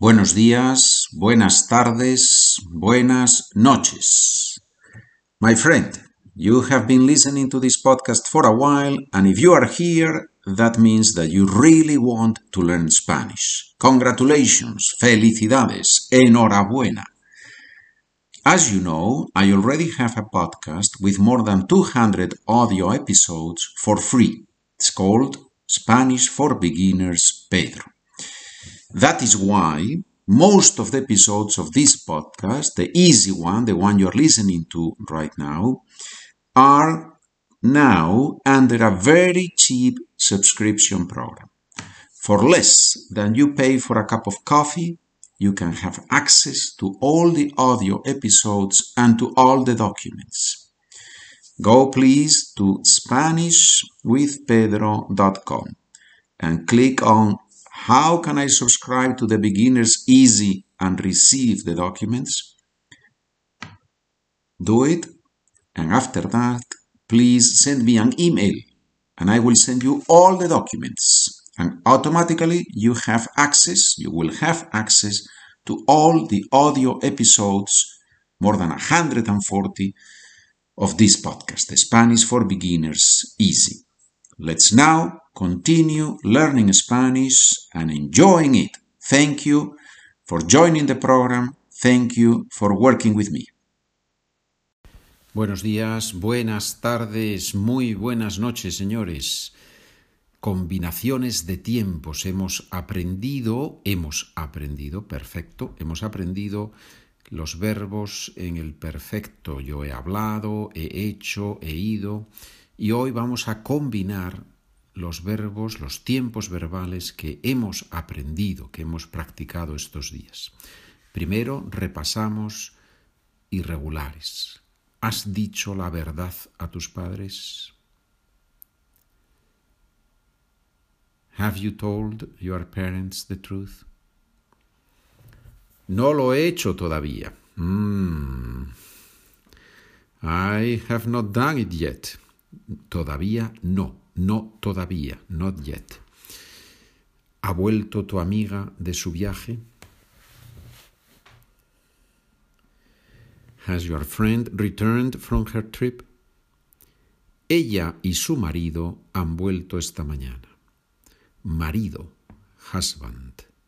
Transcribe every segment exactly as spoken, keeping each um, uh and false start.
Buenos días, buenas tardes, buenas noches. My friend, you have been listening to this podcast for a while, and if you are here, that means that you really want to learn Spanish. Congratulations, felicidades, enhorabuena. As you know, I already have a podcast with more than two hundred audio episodes for free. It's called Spanish for Beginners Pedro. That is why most of the episodes of this podcast, the easy one, the one you're listening to right now, are now under a very cheap subscription program. For less than you pay for a cup of coffee, you can have access to all the audio episodes and to all the documents. Go please to Spanish with Pedro dot com and click on How can I subscribe to the Beginners Easy and receive the documents? Do it, and after that, please send me an email, and I will send you all the documents, and automatically you have access, you will have access to all the audio episodes, more than one hundred forty, of this podcast, the Spanish for Beginners Easy. Let's now continue learning Spanish and enjoying it. Thank you for joining the program. Thank you for working with me. Buenos días, buenas tardes, muy buenas noches, señores. Combinaciones de tiempos. Hemos aprendido, hemos aprendido, perfecto, hemos aprendido los verbos en el perfecto. Yo he hablado, he hecho, he ido. Y hoy vamos a combinar los verbos, los tiempos verbales que hemos aprendido, que hemos practicado estos días. Primero repasamos irregulares. ¿Has dicho la verdad a tus padres? Have you told your parents the truth? No lo he hecho todavía. Mm. I have not done it yet. Todavía no, no todavía, not yet. ¿Ha vuelto tu amiga de su viaje? Has your friend returned from her trip? Ella y su marido han vuelto esta mañana. Marido, husband.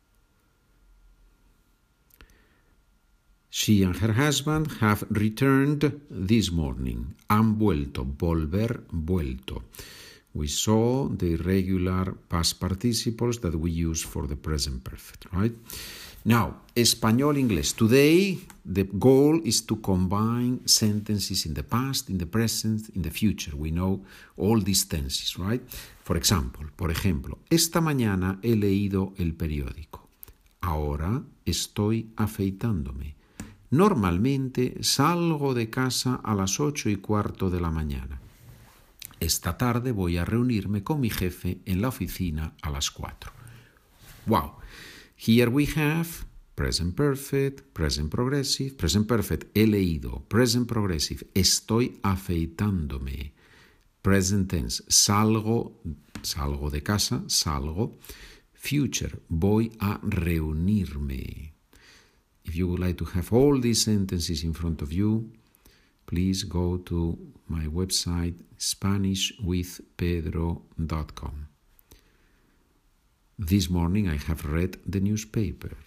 She and her husband have returned this morning. Han vuelto, volver, vuelto. We saw the irregular past participles that we use for the present perfect, right? Now, español, inglés. Today, the goal is to combine sentences in the past, in the present, in the future. We know all these tenses, right? For example, por ejemplo, esta mañana he leído el periódico. Ahora estoy afeitándome. Normalmente salgo de casa a las ocho y cuarto de la mañana. Esta tarde voy a reunirme con mi jefe en la oficina a las cuatro. Wow. Here we have present perfect, present progressive, present perfect, he leído, present progressive, estoy afeitándome. Present tense, salgo, salgo de casa, salgo. Future, voy a reunirme. If you would like to have all these sentences in front of you, please go to my website, Spanish with Pedro dot com. This morning I have read the newspaper.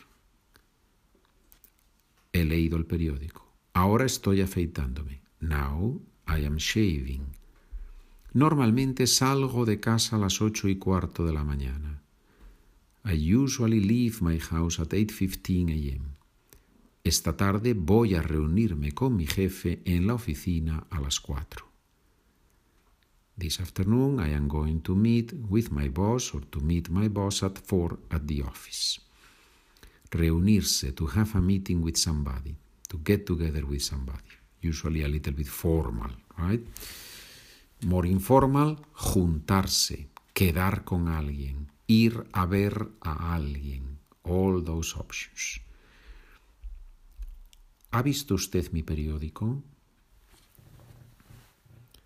He leído el periódico. Ahora estoy afeitándome. Now I am shaving. Normalmente salgo de casa a las ocho y cuarto de la mañana. I usually leave my house at eight fifteen a.m. Esta tarde voy a reunirme con mi jefe en la oficina a las cuatro. This afternoon I am going to meet with my boss or to meet my boss at four at the office. Reunirse, to have a meeting with somebody, to get together with somebody. Usually a little bit formal, right? More informal, juntarse, quedar con alguien, ir a ver a alguien. All those options. ¿Ha visto usted mi periódico?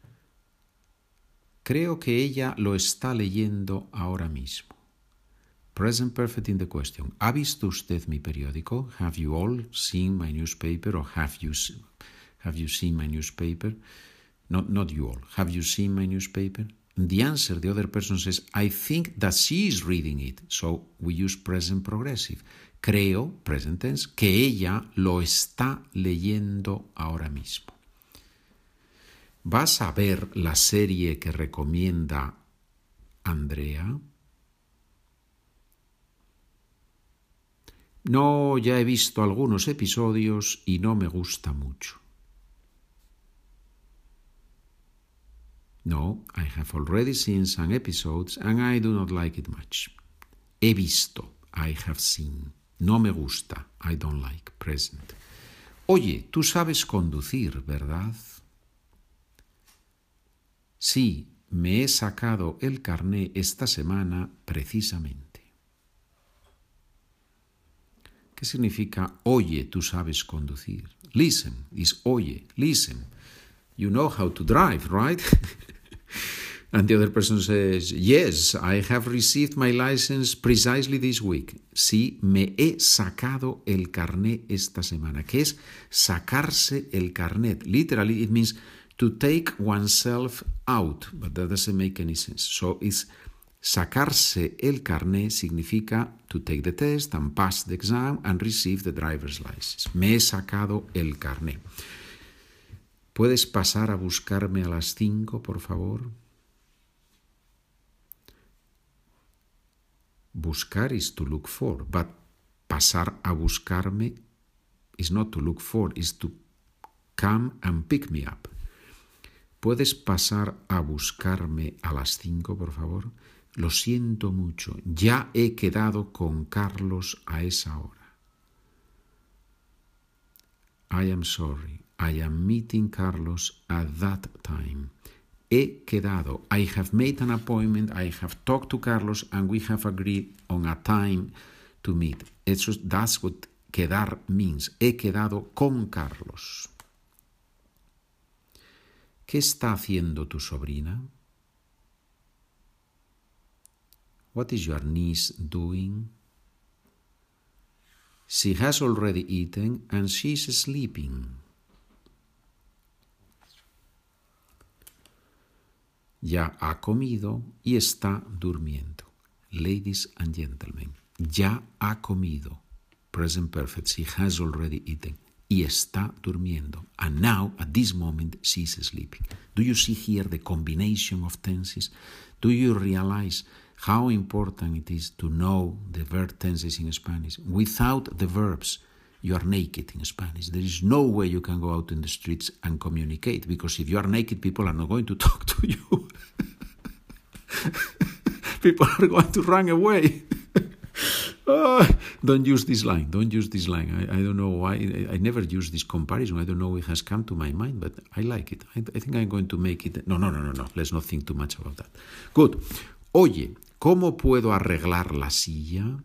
Creo que ella lo está leyendo ahora mismo. Present perfect in the question. ¿Ha visto usted mi periódico? Have you all seen my newspaper? Or have you, have you seen my newspaper? Not, not you all. Have you seen my newspaper? The answer, the other person says, I think that she is reading it. So we use present progressive. Creo, present tense, que ella lo está leyendo ahora mismo. ¿Vas a ver la serie que recomienda Andrea? No, ya he visto algunos episodios y no me gusta mucho. No, I have already seen some episodes and I do not like it much. He visto, I have seen. No me gusta, I don't like, present. Oye, tú sabes conducir, ¿verdad? Sí, me he sacado el carné esta semana precisamente. ¿Qué significa oye, tú sabes conducir? Listen is oye, listen. You know how to drive, right? And the other person says, yes, I have received my license precisely this week. Sí, me he sacado el carné esta semana. ¿Qué es sacarse el carnet? Literally, it means to take oneself out, but that doesn't make any sense. So it's sacarse el carné significa to take the test and pass the exam and receive the driver's license. Me he sacado el carné. ¿Puedes pasar a buscarme a las cinco, por favor? Buscar is to look for, but pasar a buscarme is not to look for, is to come and pick me up. ¿Puedes pasar a buscarme a las cinco, por favor? Lo siento mucho, ya he quedado con Carlos a esa hora. I am sorry, I am meeting Carlos at that time. He quedado, I have made an appointment, I have talked to Carlos and we have agreed on a time to meet. Eso, that's what quedar means. He quedado con Carlos. ¿Qué está haciendo tu sobrina? What is your niece doing? She has already eaten and she's sleeping. Ya ha comido y está durmiendo. Ladies and gentlemen, ya ha comido. Present perfect, she has already eaten. Y está durmiendo. And now, at this moment, she is sleeping. Do you see here the combination of tenses? Do you realize how important it is to know the verb tenses in Spanish? Without the verbs, you are naked in Spanish. There is no way you can go out in the streets and communicate, because if you are naked, people are not going to talk to you. People are going to run away. Oh, don't use this line. Don't use this line. I, I don't know why. I, I never use this comparison. I don't know it has come to my mind, but I like it. I, I think I'm going to make it. No, no, no, no, no. Let's not think too much about that. Good. Oye, ¿cómo puedo arreglar la silla?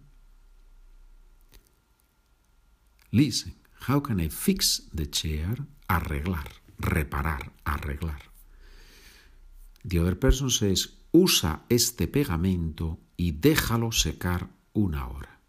Listen, how can I fix the chair? Arreglar, reparar, arreglar. The other person says, usa este pegamento y déjalo secar una hora.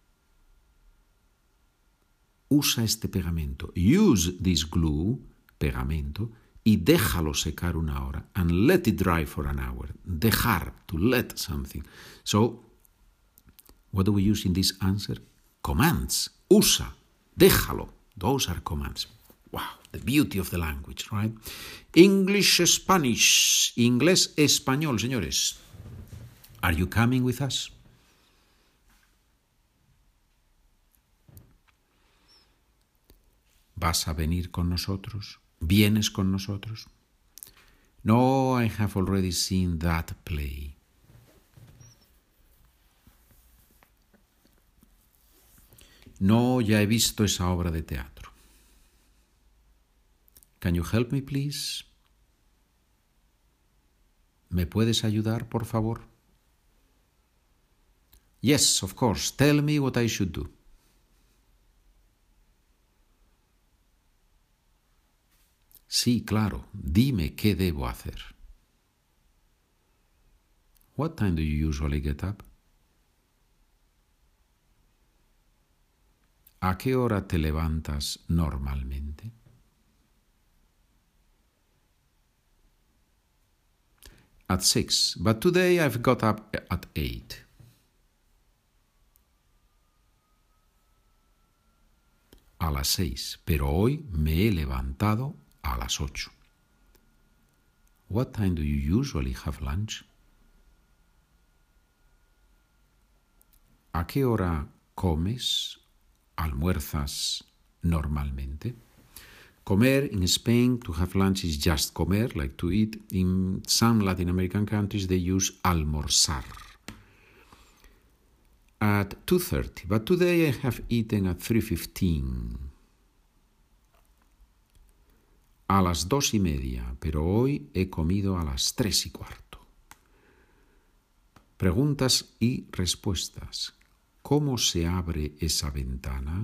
Usa este pegamento. Use this glue, pegamento, y déjalo secar una hora. And let it dry for an hour. Dejar, to let something. So, what do we use in this answer? Commands. Usa. Déjalo. Those are commands. Wow, the beauty of the language, right? English, Spanish. Inglés, español, señores. Are you coming with us? ¿Vas a venir con nosotros? ¿Vienes con nosotros? No, I have already seen that play. No, ya he visto esa obra de teatro. Can you help me, please? ¿Me puedes ayudar, por favor? Yes, of course. Tell me what I should do. Sí, claro. Dime qué debo hacer. What time do you usually get up? ¿A qué hora te levantas normalmente? At six, but today I've got up at eight. A las seis, pero hoy me he levantado a las ocho. What time do you usually have lunch? ¿A qué hora comes, almuerzas normalmente? Comer in Spain, to have lunch is just comer, like to eat. In some Latin American countries they use almorzar. At two thirty, but today I have eaten at three fifteen. A las dos y media, pero hoy he comido a las tres y cuarto. Preguntas y respuestas. ¿Cómo se abre esa ventana?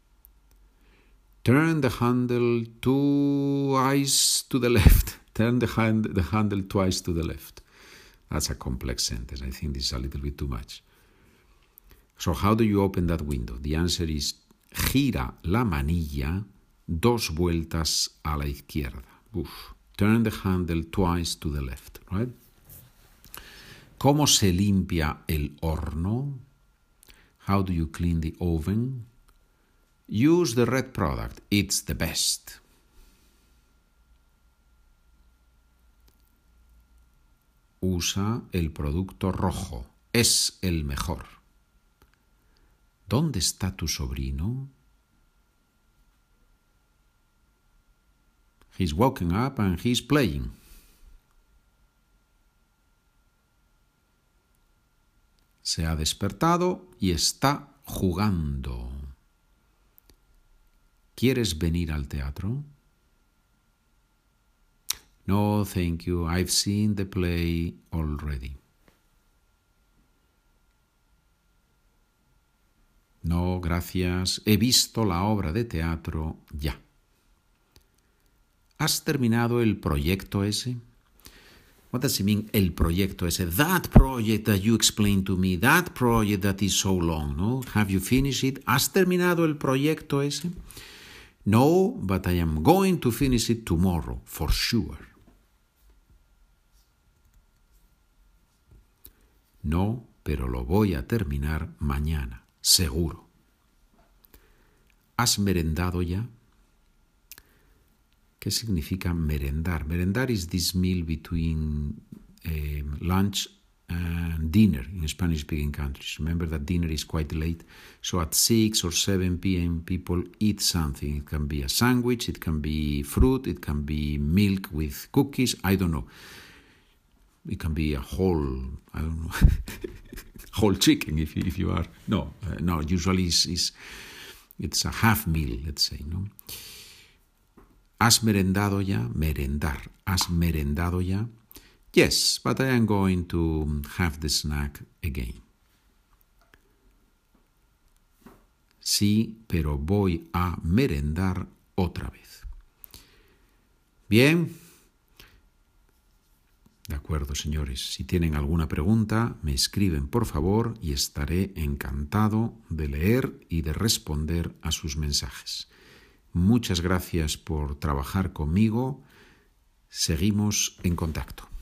Turn the handle twice to the left. Turn the, hand, the handle twice to the left. That's a complex sentence. I think this is a little bit too much. So how do you open that window? The answer is gira la manilla dos vueltas a la izquierda. Uf. Turn the handle twice to the left, right? ¿Cómo se limpia el horno? How do you clean the oven? Use the red product. It's the best. Usa el producto rojo. Es el mejor. ¿Dónde está tu sobrino? He's woken up and he's playing. Se ha despertado y está jugando. ¿Quieres venir al teatro? No, thank you. I've seen the play already. No, gracias. He visto la obra de teatro ya. ¿Has terminado el proyecto ese? What does it mean, el proyecto ese? That project that you explained to me, that project that is so long, no? Have you finished it? ¿Has terminado el proyecto ese? No, but I am going to finish it tomorrow, for sure. No, pero lo voy a terminar mañana, seguro. ¿Has merendado ya? ¿Qué significa merendar? Merendar is this meal between uh, lunch and dinner in Spanish-speaking countries. Remember that dinner is quite late. So at six or seven p.m. people eat something. It can be a sandwich, it can be fruit, it can be milk with cookies, I don't know. It can be a whole, I don't know, whole chicken if you, if you are. No, uh, no, usually it's, it's, it's a half meal, let's say, no? ¿Has merendado ya? Merendar. ¿Has merendado ya? Yes, but I am going to have the snack again. Sí, pero voy a merendar otra vez. Bien. De acuerdo, señores. Si tienen alguna pregunta, me escriben, por favor, y estaré encantado de leer y de responder a sus mensajes. Muchas gracias por trabajar conmigo. Seguimos en contacto.